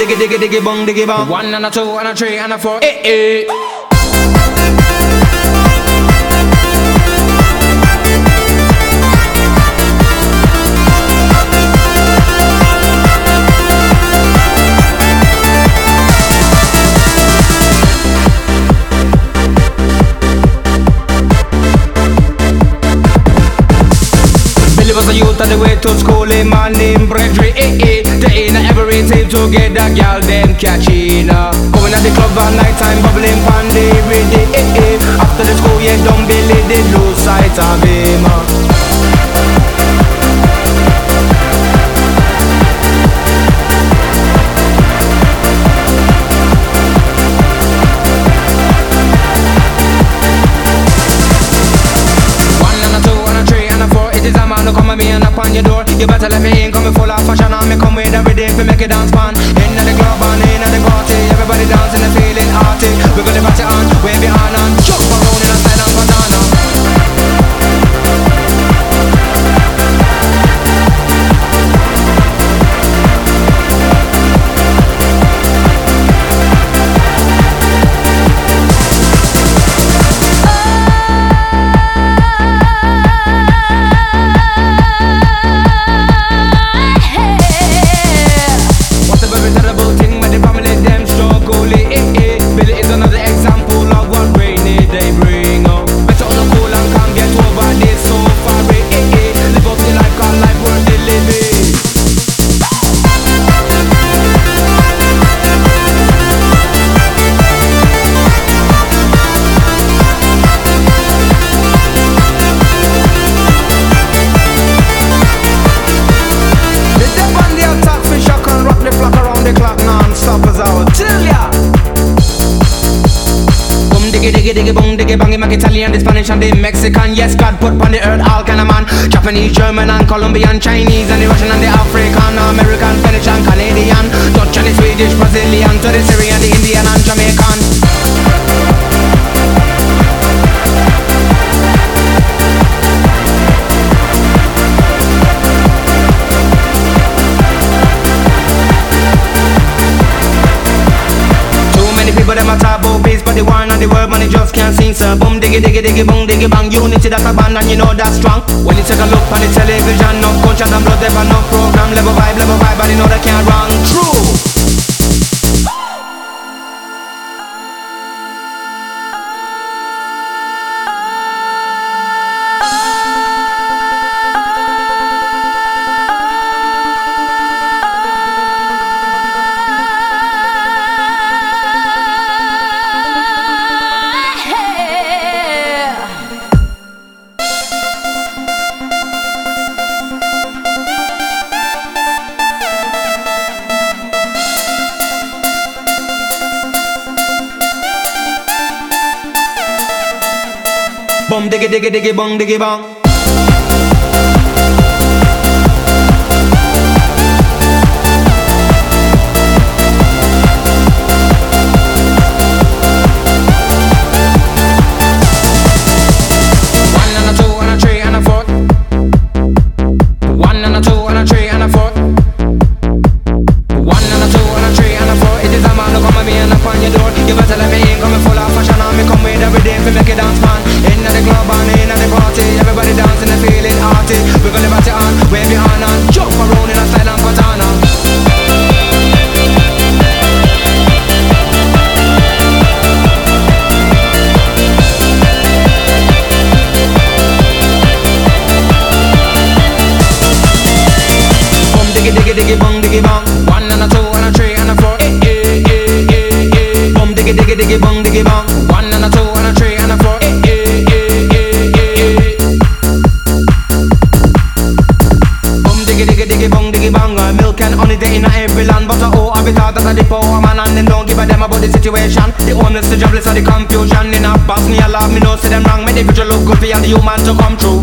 diggy diggy diggy bong diggy bong. 1 and a 2 and a 3 and a 4. Eh eh. Billy was a youth on the way to school, man named Bredry, eh eh. They ain't every tape to get that girl them catching. Going at the club at night time, bubbling pan the ready, eh eh. After the school, yeah, don't Billy, they lose sight of him. Come and me and up on your door. You better let me in, coming full of fashion. And me come with every day to make it dance fun. Inna the club and inna the party, everybody dancing and feeling arty. We gonna party on, wave your hand and jump around in a silent banana. Diggy diggy bong diggy bang, make Italian, the Spanish and the Mexican. Yes, God put on the earth all kind of man. Japanese, German and Colombian, Chinese and the Russian and the African, American, Spanish and Canadian, Dutch and the Swedish, Brazilian, to the Syrian, the Indian and Jamaican. But them a talk about peace, but the war and the world, man, they just can't sing, sir. Boom, diggy, diggy, diggy, boom, diggy, bang. Unity, that's a band, and you know that's strong. When you take a look on the television, no conscience and blood, there are no program. Level vibe, but you know they can't run. True. Boom diggy diggy diggy bong diggy bong. One and a 2 and a 3 and a 4. 1 and a 2 and a 3 and a 4. 1 and a 2 and a 3 and a 4. It is a man who come at me and up on your door. You better let me in, coming full of fashion. And me come with every day to make it dance fun. Inna the club and inna the party, everybody dancing and feeling arty. We gonna party on, wave your hand and jump around in a silent katana. Boom diggy diggy diggy bong diggy bong. 1 and a 2 and a 3 and a 4. Eh eh eh eh eh. Boom diggy diggy diggy bong diggy bong. 1 and a 2 and a 3 and a 4. Eh eh eh eh eh. Boom diggy diggy diggy bong diggy bong. Milk and honey they in every land, but I be thought that I the poor man and them don't give a damn about the situation. The homeless, the jobless, or the confusion. In a boss me a love me know say them wrong. Make the future look good for all the human to come true.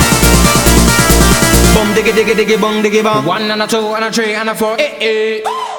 Diggy diggy diggy bong diggy bong. 1 and a 2 and a 3 and a 4. Eh eh.